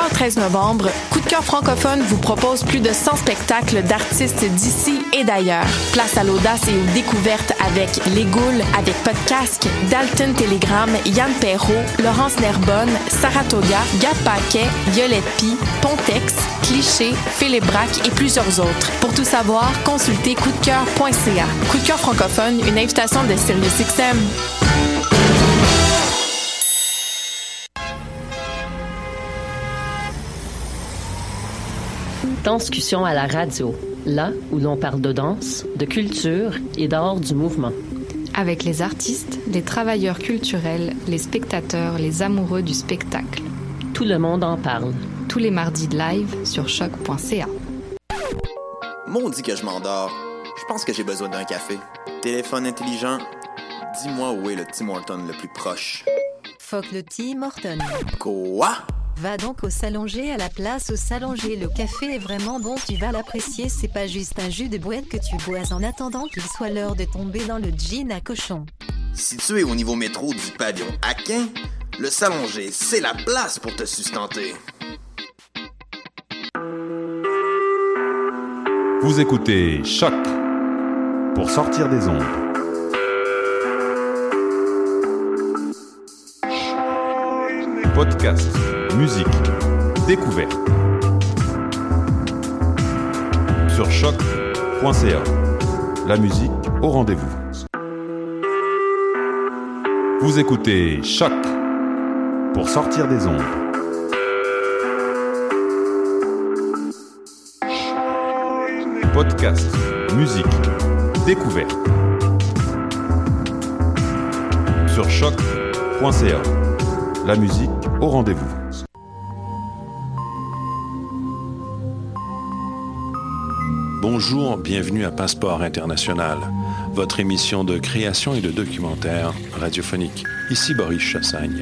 au 13 novembre, Coup de cœur francophone vous propose plus de 100 spectacles d'artistes d'ici et d'ailleurs. Place à l'audace et aux découvertes avec Les Goules, avec Podcasque, Dalton Telegram, Yann Perrault, Laurence Nerbonne, Saratoga, Gab Paquet, Violette Pie, Pontex, Cliché, Philippe Braque et plusieurs autres. Pour tout savoir, consultez coupdecoeur.ca. Coup de cœur francophone, une invitation de SiriusXM. Danscussion à la radio, là où l'on parle de danse, de culture et d'art du mouvement. Avec les artistes, les travailleurs culturels, les spectateurs, les amoureux du spectacle. Tout le monde en parle. Tous les mardis de live sur choc.ca. Maudit que je m'endors. Je pense que j'ai besoin d'un café. Téléphone intelligent, dis-moi où est le Tim Hortons le plus proche. Fuck le Tim Hortons. Quoi? Va donc au Salonger à la place au Salonger. Le café est vraiment bon, tu vas l'apprécier. C'est pas juste un jus de boîte que tu bois en attendant qu'il soit l'heure de tomber dans le gin à cochon. Situé au niveau métro du pavillon Aquin, le Salonger, c'est la place pour te sustenter. Vous écoutez Choc pour sortir des ondes. Podcast, musique, découverte. Sur choc.ca. La musique au rendez-vous. Vous écoutez Choc pour sortir des ondes. Podcast, musique, découverte. Sur choc.ca. La musique au rendez-vous. Bonjour, bienvenue à Passeport International, votre émission de création et de documentaire radiophonique. Ici Boris Chassagne.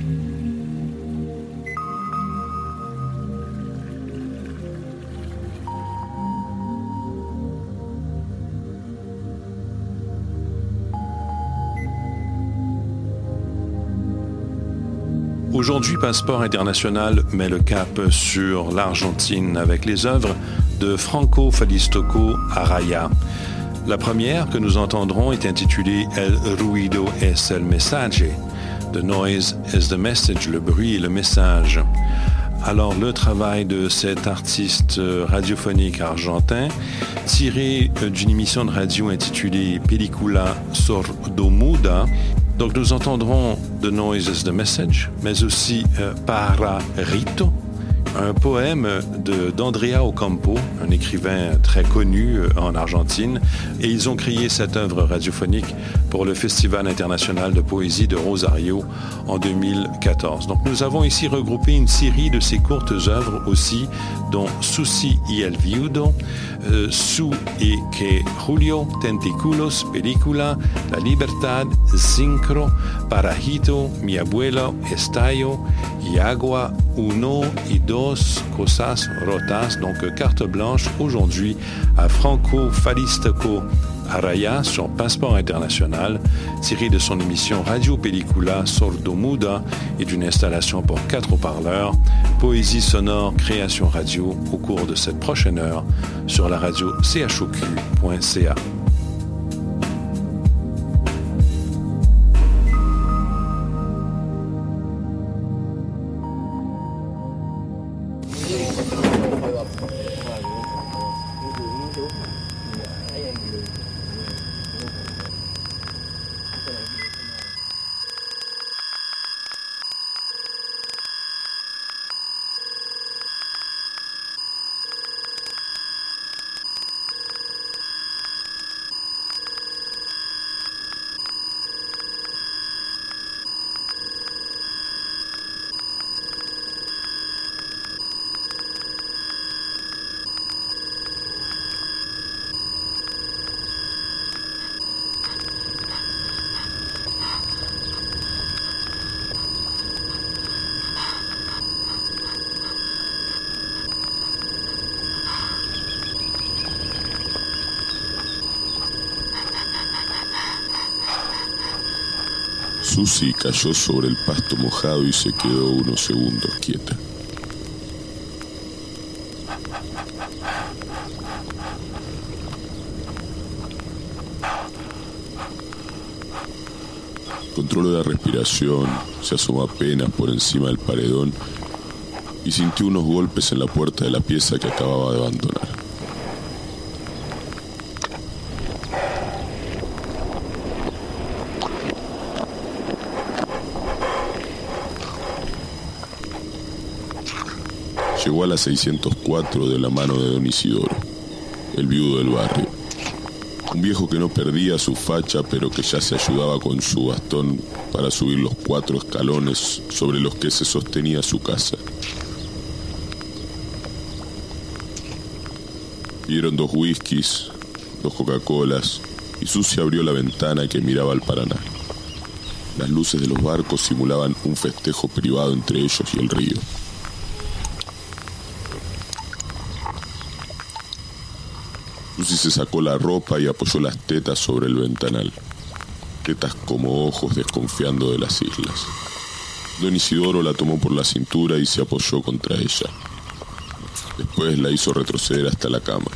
Aujourd'hui, Passeport International met le cap sur l'Argentine avec les œuvres de Franco Falistoco Araya. La première que nous entendrons est intitulée El ruido es el mensaje. The noise is the message, le bruit et le message. Alors, le travail de cet artiste radiophonique argentin, tiré d'une émission de radio intitulée Película Sordomuda. Donc, nous entendrons The Noise is the Message, mais aussi Para Rito, un poème d'Andrea Ocampo, un écrivain très connu en Argentine, et ils ont créé cette œuvre radiophonique pour le Festival international de poésie de Rosario en 2014. Donc nous avons ici regroupé une série de ces courtes œuvres aussi, dont Susi y el Viudo, Su y que Julio, Tentaculos, Película, La Libertad, Synchro, Parajito, Mi Abuelo, Estallo, y Agua, Uno y Dos Cosas Rotas, donc carte blanche aujourd'hui à Franco Falistoco Araya sur Passeport International, tiré de son émission Radio Película Sordomuda et d'une installation pour 4 haut-parleurs, poésie sonore, création radio au cours de cette prochaine heure sur la radio choq.ca. Susi cayó sobre el pasto mojado y se quedó unos segundos quieta. Controló la respiración, se asomó apenas por encima del paredón y sintió unos golpes en la puerta de la pieza que acababa de abandonar. Llegó a la 604 de la mano de don Isidoro, el viudo del barrio. Un viejo que no perdía su facha, pero que ya se ayudaba con su bastón para subir los 4 escalones sobre los que se sostenía su casa. Pidieron 2 whiskies, 2 Coca-Colas, y Susi abrió la ventana que miraba al Paraná. Las luces de los barcos simulaban un festejo privado entre ellos y el río. Susi se sacó la ropa y apoyó las tetas sobre el ventanal. Tetas como ojos desconfiando de las islas. Don Isidoro la tomó por la cintura y se apoyó contra ella. Después la hizo retroceder hasta la cama.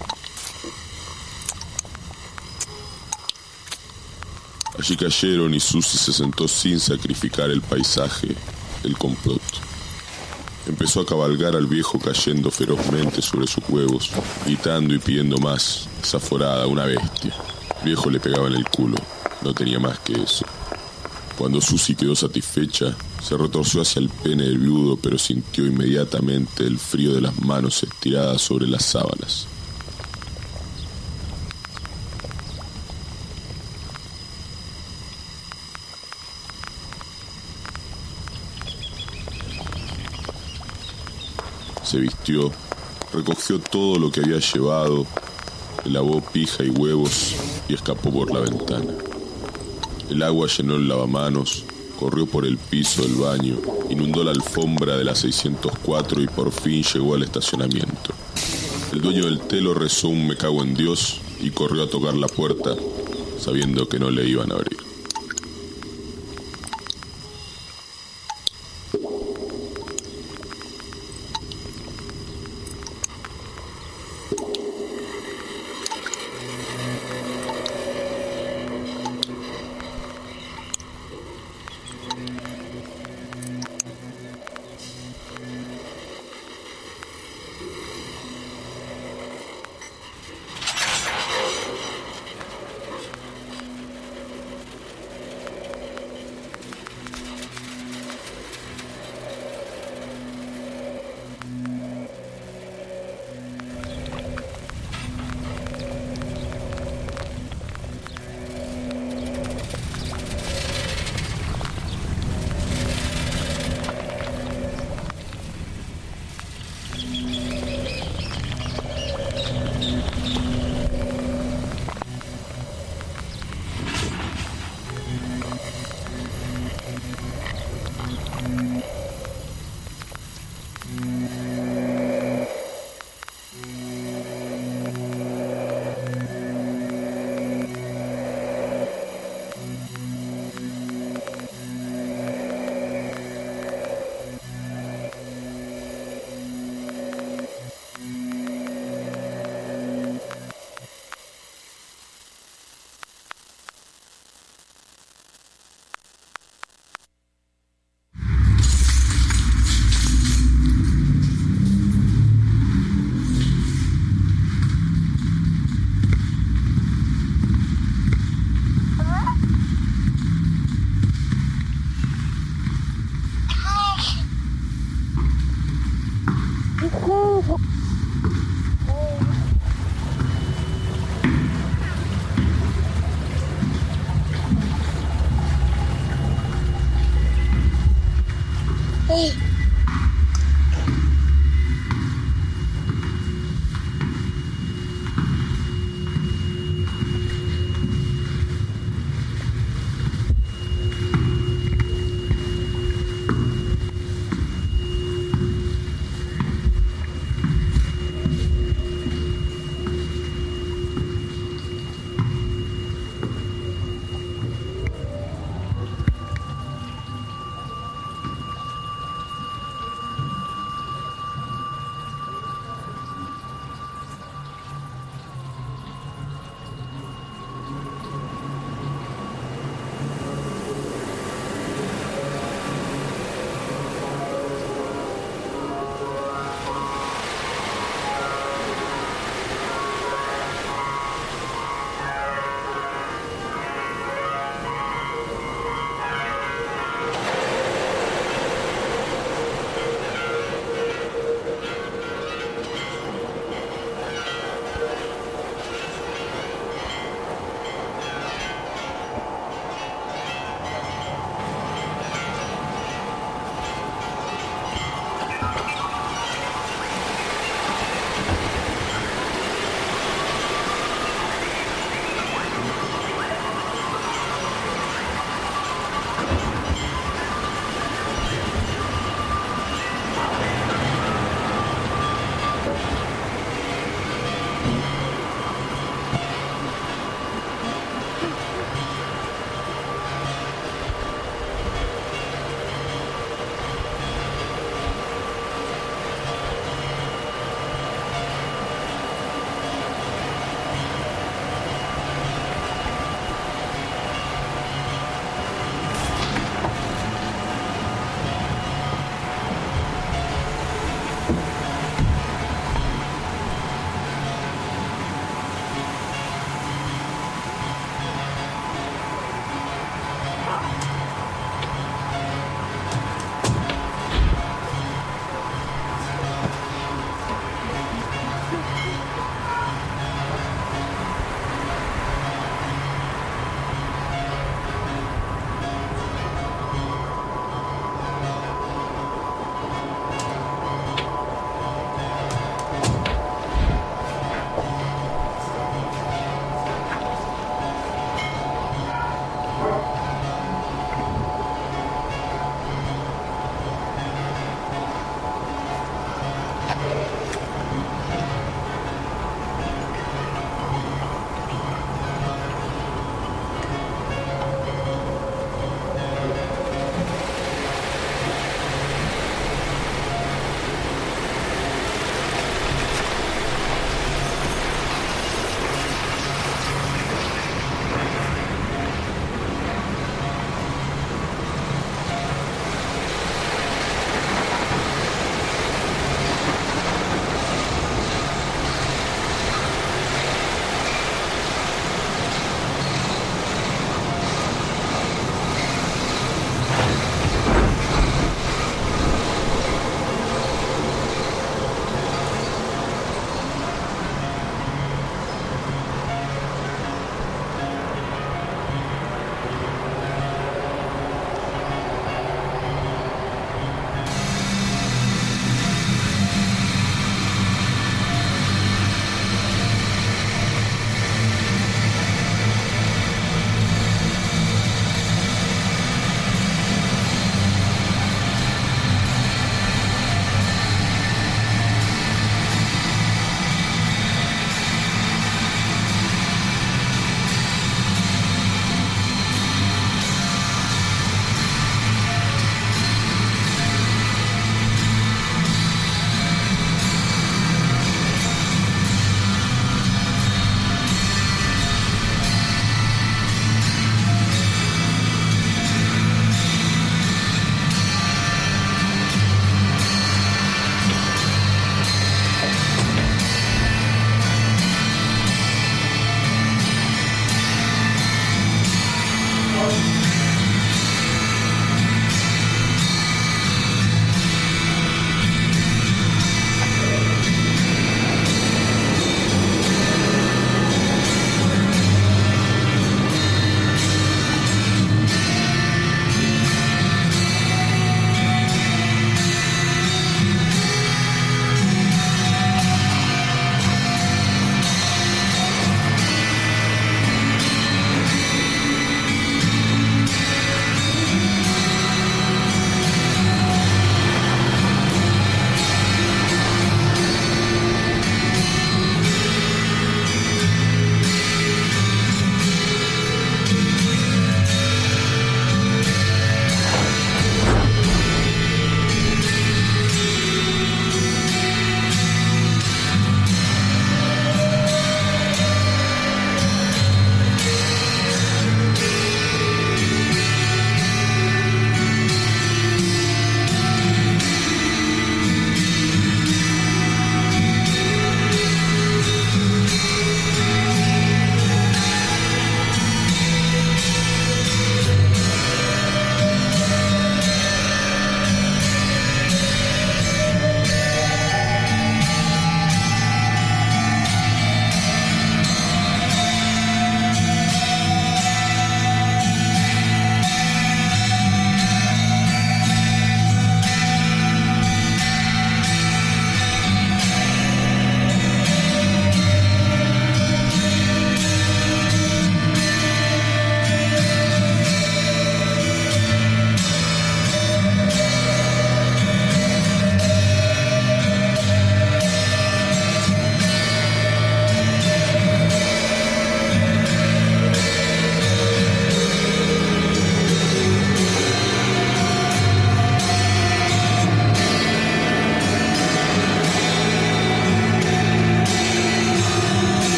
Allí cayeron y Susi se sentó sin sacrificar el paisaje, el complot. Empezó a cabalgar al viejo cayendo ferozmente sobre sus huevos, gritando y pidiendo más, desaforada, una bestia. El viejo le pegaba en el culo, no tenía más que eso. Cuando Susi quedó satisfecha, se retorció hacia el pene del viudo, pero sintió inmediatamente el frío de las manos estiradas sobre las sábanas. Se vistió, recogió todo lo que había llevado, le lavó pija y huevos y escapó por la ventana. El agua llenó el lavamanos, corrió por el piso del baño, inundó la alfombra de la 604 y por fin llegó al estacionamiento. El dueño del telo rezó un me cago en Dios y corrió a tocar la puerta, sabiendo que no le iban a abrir.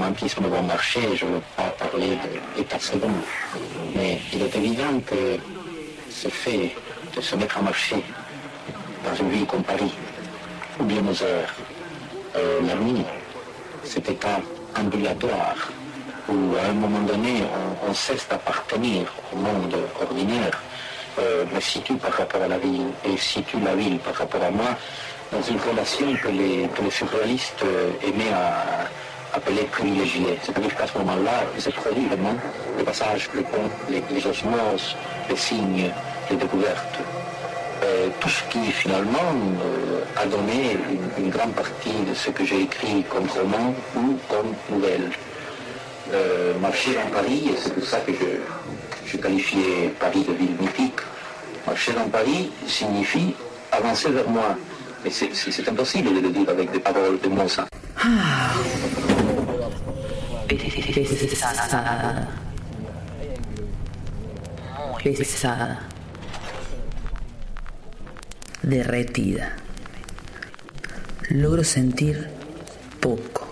romantisme bon marché, je ne veux pas parler d'état second, mais il est évident que ce fait de se mettre en marché dans une ville comme Paris, ou bien aux heures, la nuit, cet état ambulatoire, où à un moment donné on cesse d'appartenir au monde ordinaire, me situe par rapport à la ville et situe la ville par rapport à moi dans une relation que les surréalistes aimaient à appeler privilégiée. C'est-à-dire qu'à ce moment-là, il se produit vraiment le passage, le pont, les osmoses, les signes, les découvertes. Tout ce qui finalement a donné une grande partie de ce que j'ai écrit comme roman ou comme nouvelle. Marcher dans Paris, et c'est pour ça que je qualifiais Paris de ville mythique. Marcher dans Paris signifie avancer vers moi. Mais c'est impossible de le dire avec des paroles de Mozart. Pesada, derretida. Logro sentir poco.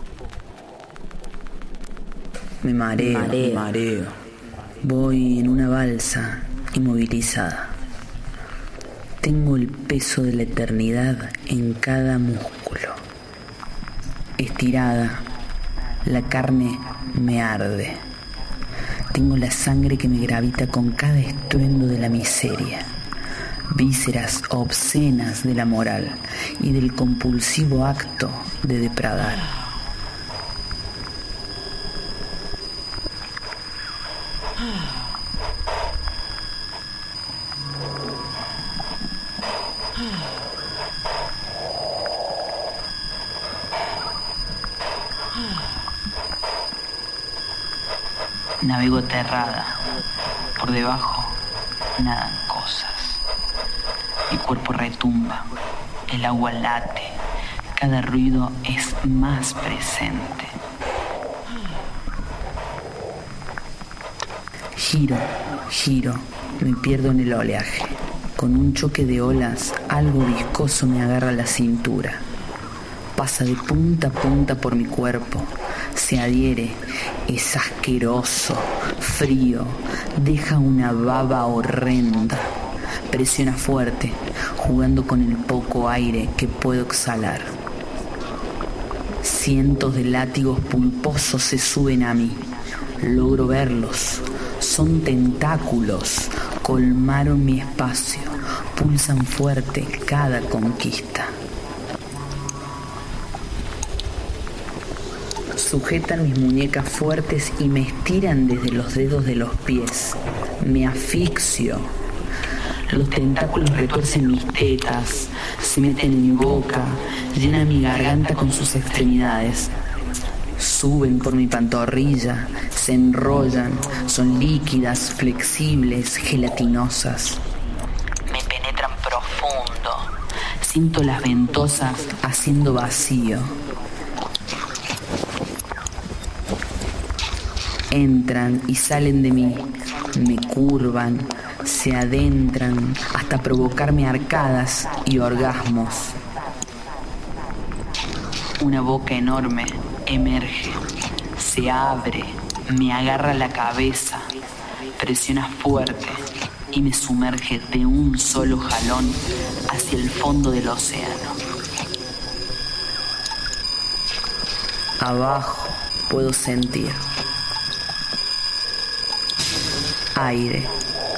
Me mareo. Voy en una balsa inmovilizada. Tengo el peso de la eternidad en cada músculo. Estirada, la carne me arde. Tengo la sangre que me gravita con cada estruendo de la miseria. Vísceras obscenas de la moral y del compulsivo acto de depredar. Navego aterrada. Por debajo nadan cosas. Mi cuerpo retumba. El agua late. Cada ruido es más presente. Giro. Me pierdo en el oleaje. Con un choque de olas, algo viscoso me agarra la cintura. Pasa de punta a punta por mi cuerpo. Se adhiere, es asqueroso, frío, deja una baba horrenda. Presiona fuerte, jugando con el poco aire que puedo exhalar. Cientos de látigos pulposos se suben a mí. Logro verlos. Son tentáculos. Colmaron mi espacio. Pulsan fuerte cada conquista. Sujetan mis muñecas fuertes y me estiran desde los dedos de los pies. Me asfixio. Los tentáculos retuercen mis tetas, se meten en mi boca, llenan mi garganta con sus extremidades. Suben por mi pantorrilla, se enrollan, son líquidas, flexibles, gelatinosas. Me penetran profundo. Siento las ventosas haciendo vacío. Entran y salen de mí, me curvan, se adentran hasta provocarme arcadas y orgasmos. Una boca enorme emerge, se abre, me agarra la cabeza, presiona fuerte y me sumerge de un solo jalón hacia el fondo del océano. Abajo puedo sentir aire,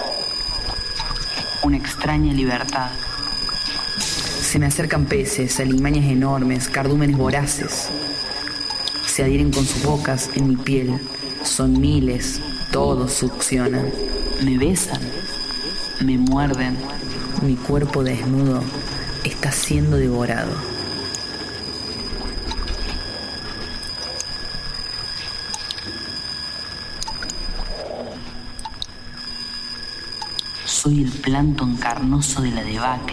una extraña libertad. Se me acercan peces, alimañas enormes, cardúmenes voraces. Se adhieren con sus bocas en mi piel. Son miles, todos succionan. Me besan, me muerden. Mi cuerpo desnudo está siendo devorado. Soy el plancton carnoso de la debacle.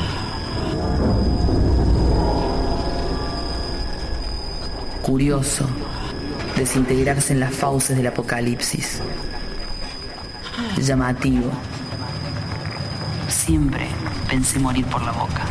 Curioso, desintegrarse en las fauces del apocalipsis. Llamativo. Siempre pensé morir por la boca.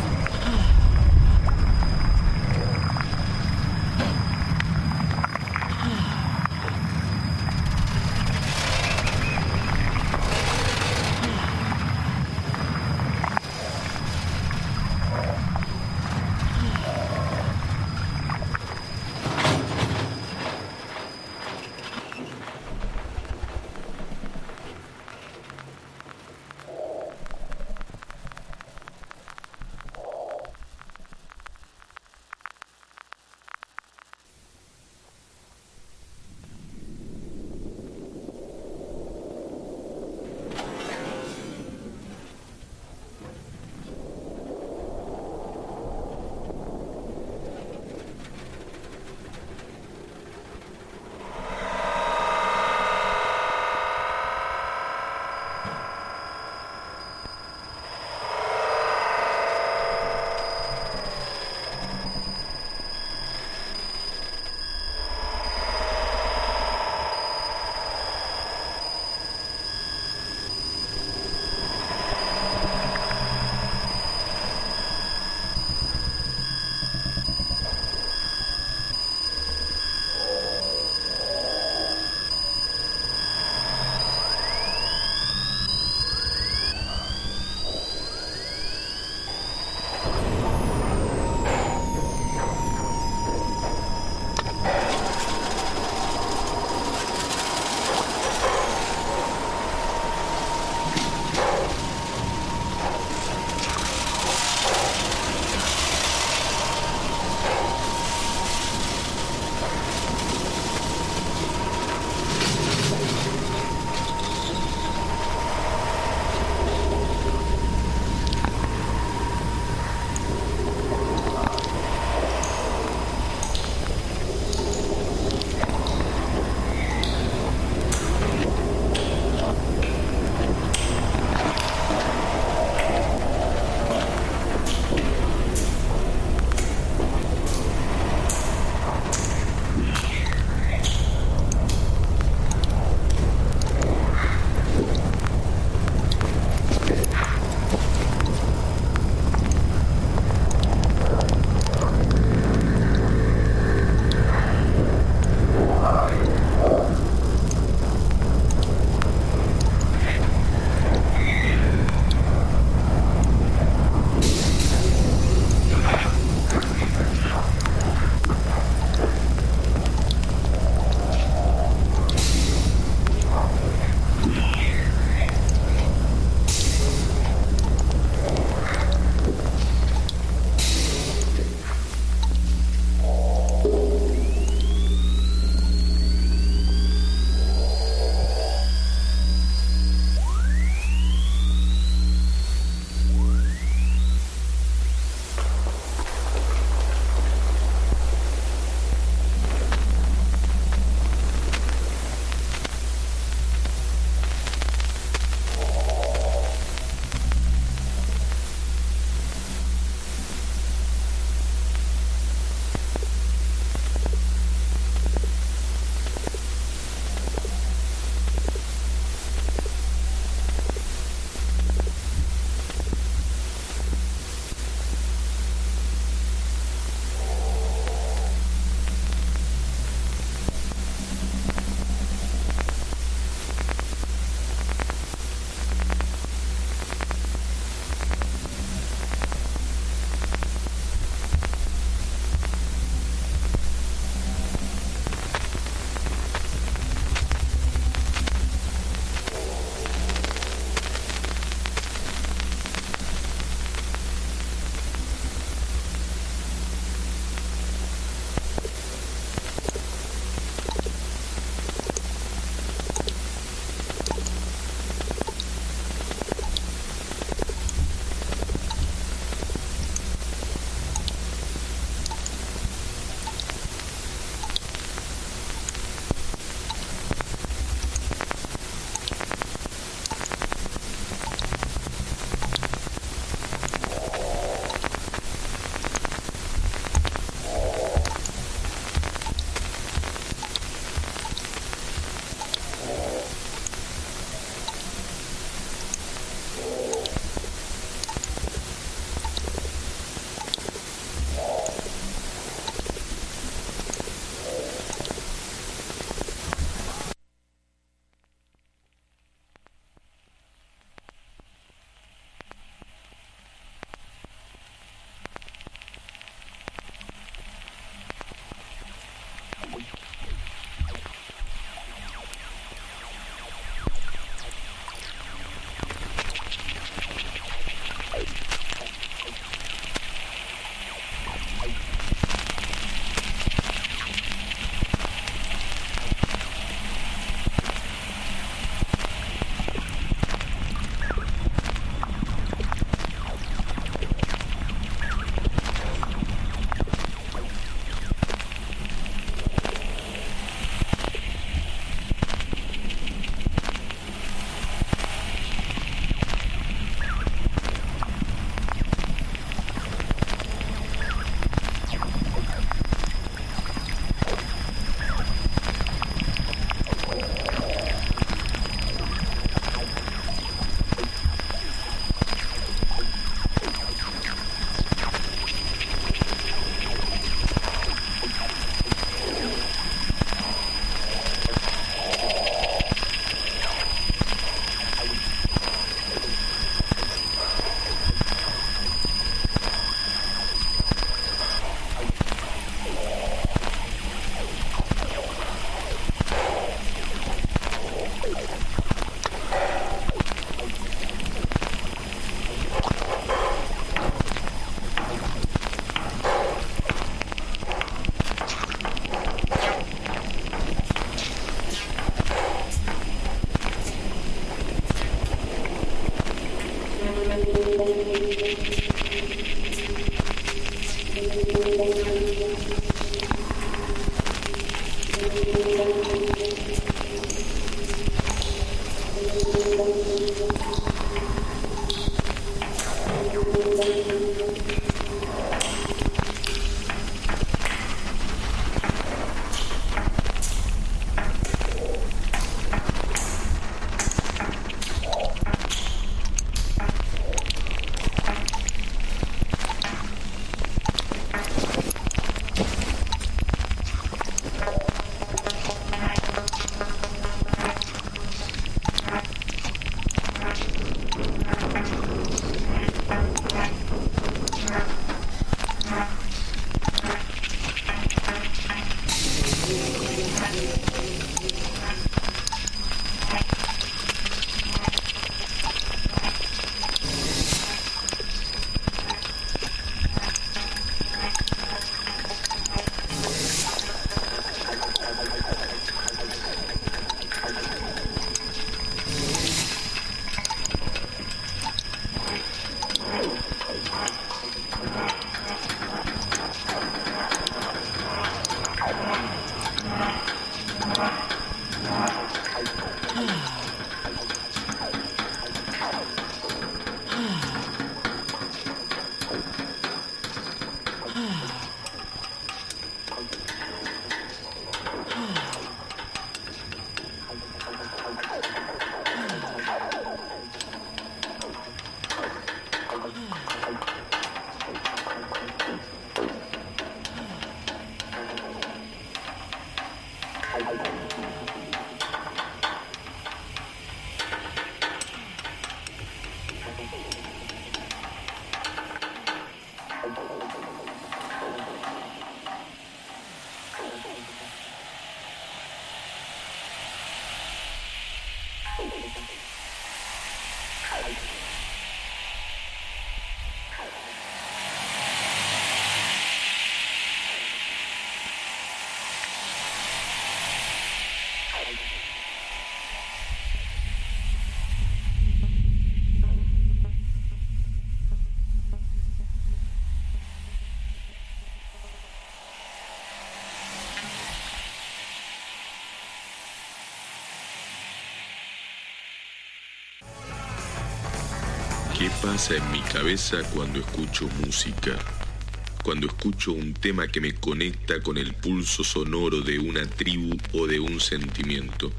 ¿Qué pasa en mi cabeza cuando escucho música? Cuando escucho un tema que me conecta con el pulso sonoro de una tribu o de un sentimiento.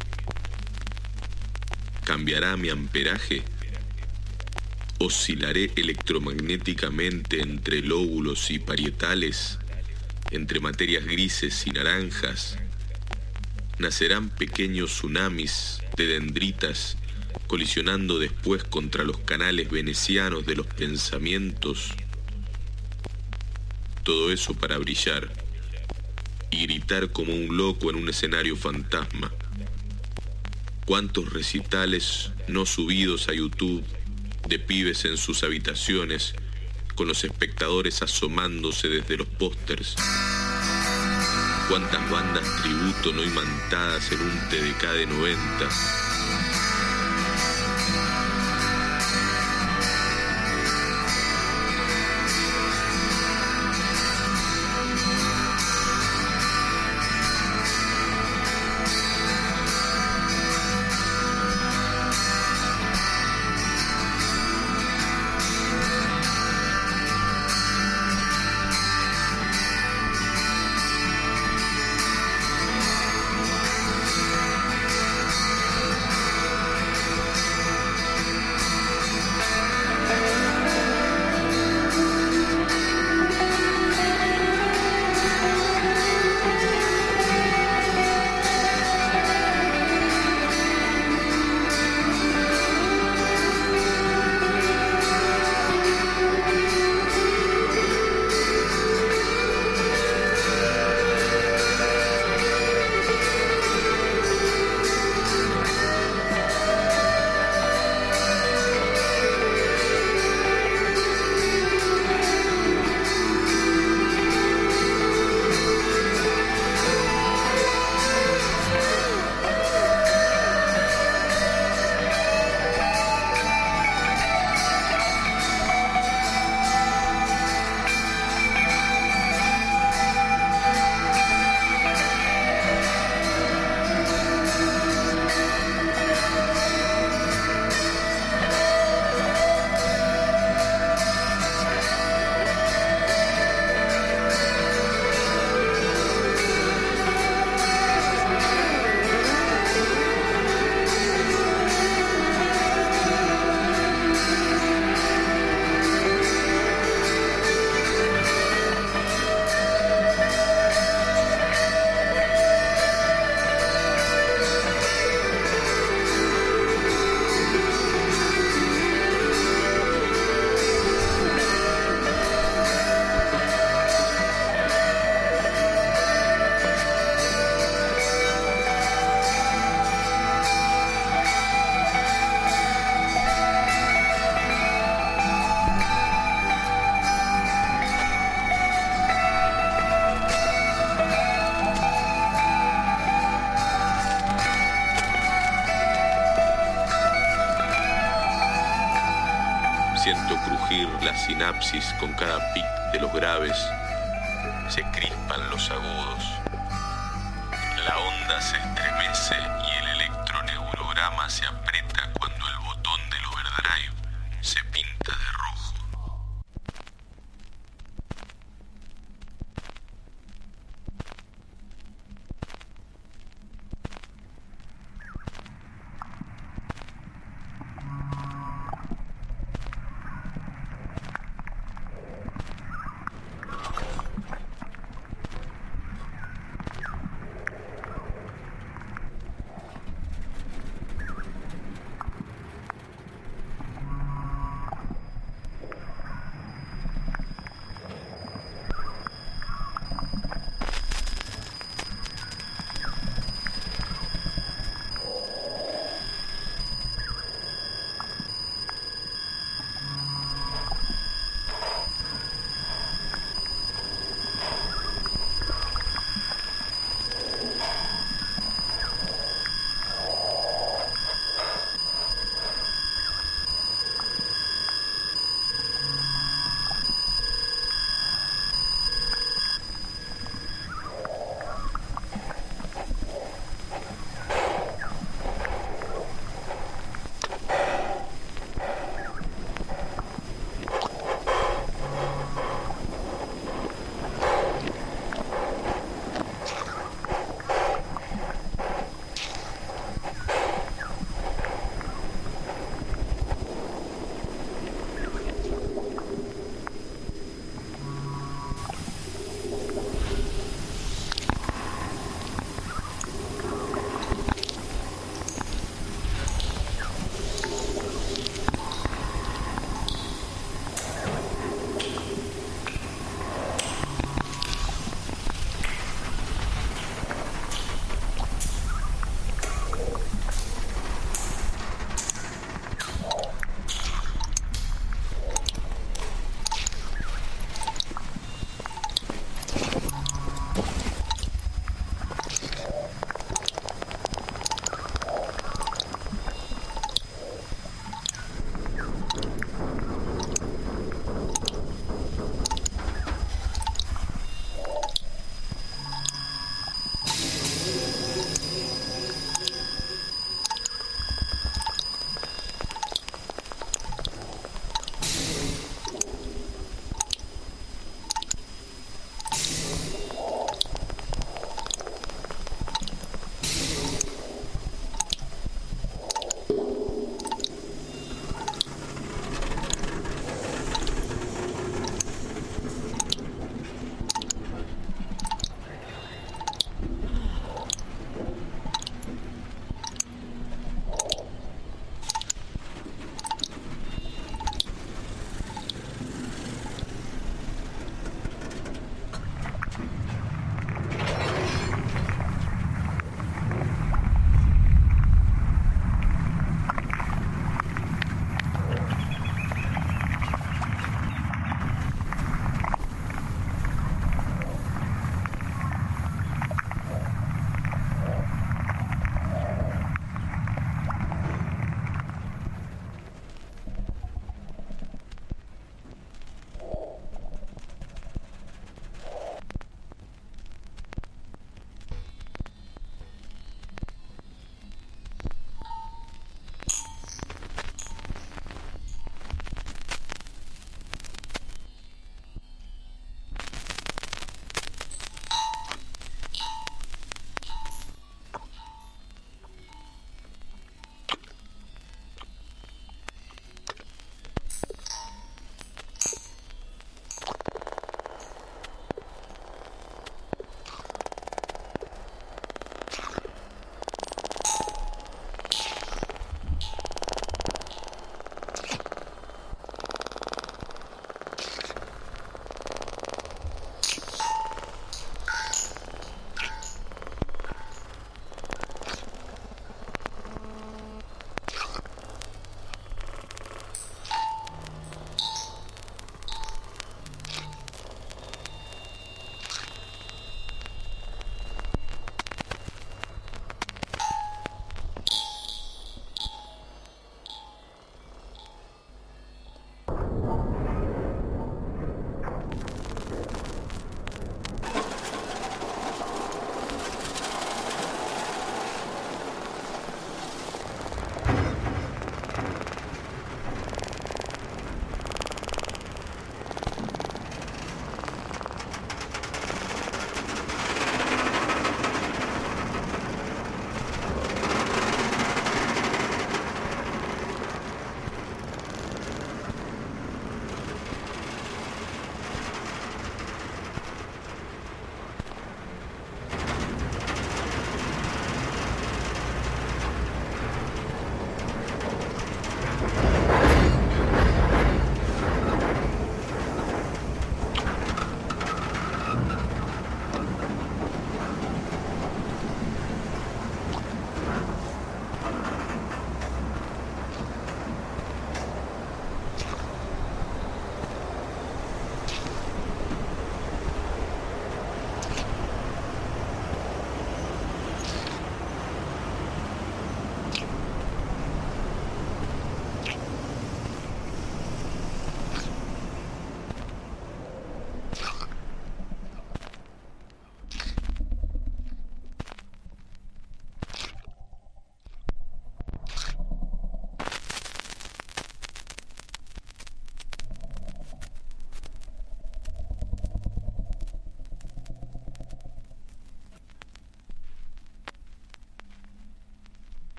¿Cambiará mi amperaje? ¿Oscilaré electromagnéticamente entre lóbulos y parietales? ¿Entre materias grises y naranjas? ¿Nacerán pequeños tsunamis de dendritas colisionando después contra los canales venecianos de los pensamientos? Todo eso para brillar y gritar como un loco en un escenario fantasma. ¿Cuántos recitales no subidos a YouTube de pibes en sus habitaciones con los espectadores asomándose desde los pósters? ¿Cuántas bandas tributo no imantadas en un TDK de 90? Siento crujir la sinapsis con cada pic de los graves. Se crispan los agudos. La onda se estremece y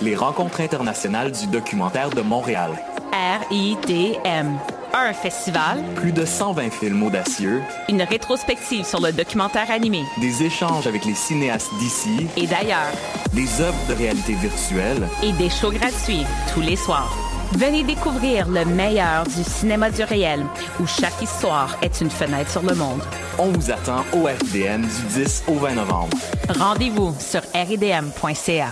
les Rencontres internationales du documentaire de Montréal. RIDM. Un festival. Plus de 120 films audacieux. Une rétrospective sur le documentaire animé. Des échanges avec les cinéastes d'ici et d'ailleurs. Des œuvres de réalité virtuelle. Et des shows gratuits tous les soirs. Venez découvrir le meilleur du cinéma du réel, où chaque histoire est une fenêtre sur le monde. On vous attend au RIDM du 10 au 20 novembre. Rendez-vous sur ridm.ca.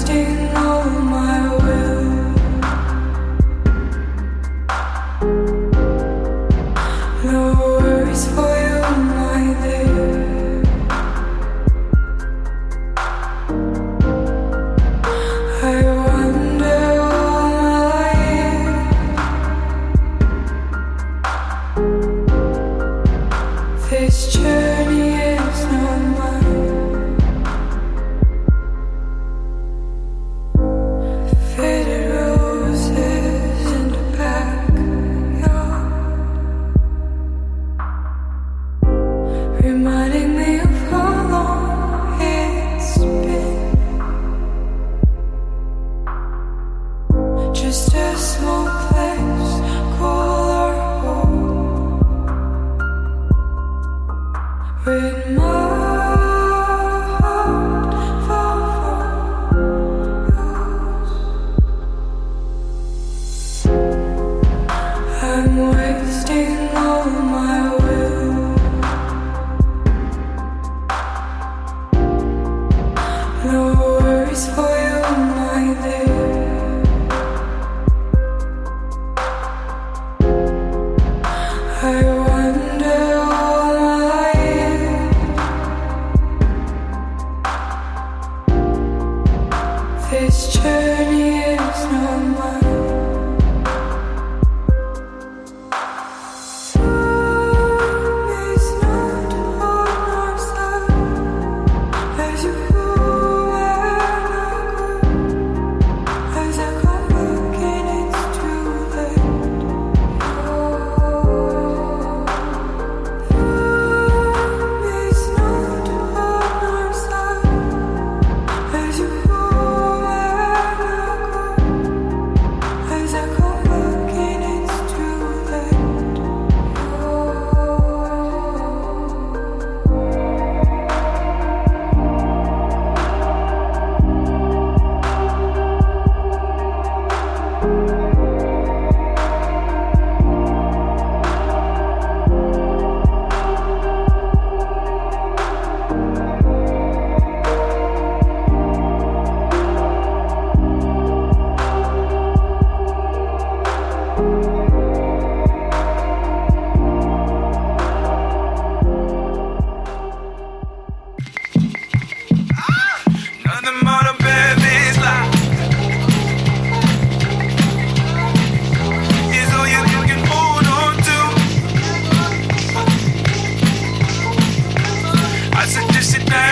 Sit down.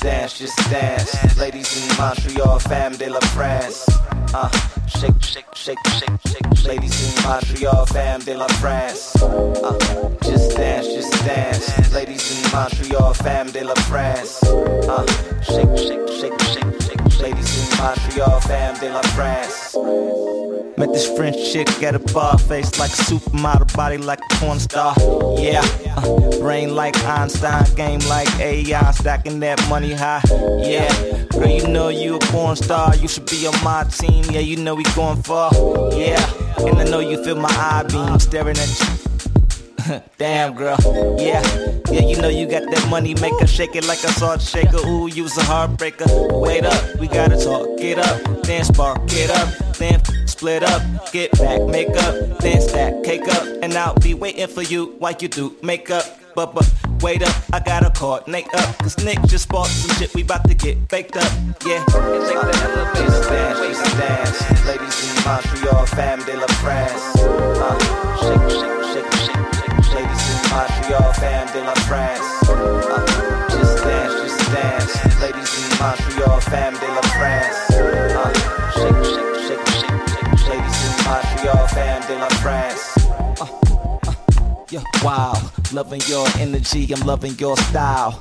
just dance. Ladies in Montreal, femme de la France. Shake, shake, shake, shake, shake. Ladies in Montreal, femme de la France. Just dance. Ladies in Montreal, femme de la France. Shake, shake, shake, shake, shake. Ladies in Montreal, femme de la France. Met this French chick at a bar, face like a supermodel, body like a porn star. Yeah, brain like Einstein, game like AI, stacking that money high. Yeah, girl, you know you a porn star, you should be on my team. Yeah, you know we going far. Yeah, and I know you feel my eye beam staring at you. Damn, girl, yeah, you know you got that money maker, shake it like a salt shaker. Ooh, you's a heartbreaker. Wait up, we gotta talk, get up, then spark, get up, then split up, get back, make up, then stack, cake up, and I'll be waiting for you while you do makeup. But wait up, I gotta coordinate up, cause Nick just bought some shit, we bout to get baked up. Yeah, shake the elevator, dance. Ladies in Montreal, femme de la France. Shake, shake, shake, shake. Ladies in Montreal, femme de la France. Just dance. Ladies in Montreal, femme de la France. Shake, shake, shake, shake, shake. Ladies in Montreal, femme de la France. Yeah, wow, loving your energy, I'm loving your style.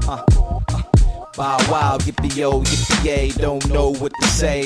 Wow, yippee-yo, yippee-yay, don't know what to say.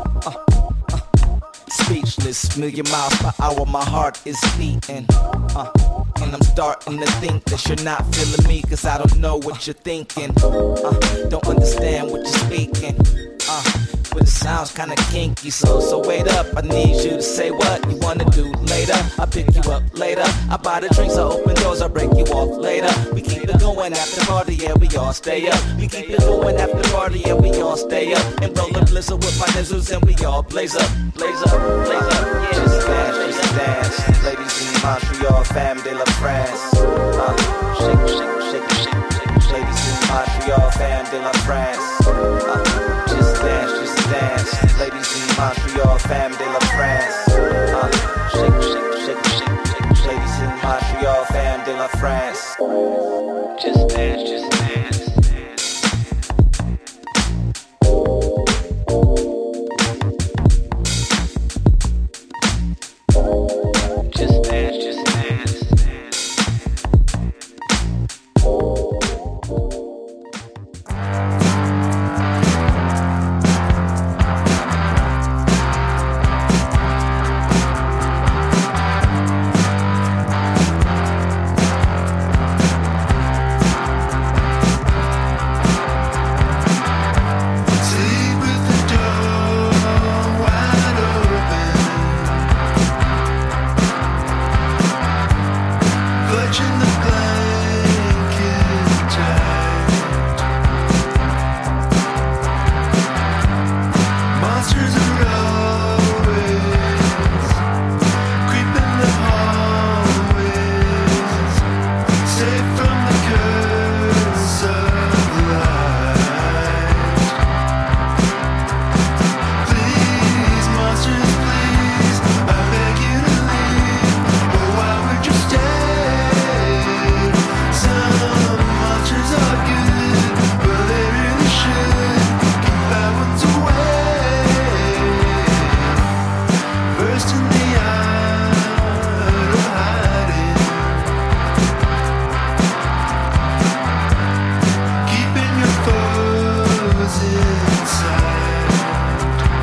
Speechless, million miles per hour, my heart is beating. And I'm starting to think that you're not feeling me, cause I don't know what you're thinking. Don't understand what you're speaking. But it sounds kinda kinky, so wait up. I need you to say what you wanna do later. I pick you up later. I buy the drinks, I open doors, I break you off later. We keep it going after party, yeah, we all stay up. We keep it going after party, yeah, we all stay up. And roll a blizzard with my nizzles and we all blaze up, blaze up, blaze up. Yeah, just dance. Ladies in Montreal, femme de la France. Shake, shake, shake, shake, shake. Ladies in Montreal, femme de la France. Just dance. Ladies in Montreal, femme de la France. Shake, shake, shake, shake, shake. Ladies in Montreal, femme de la France. Just dance, just dance. Just dance, just dance.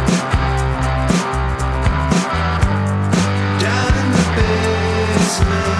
Down in the basement.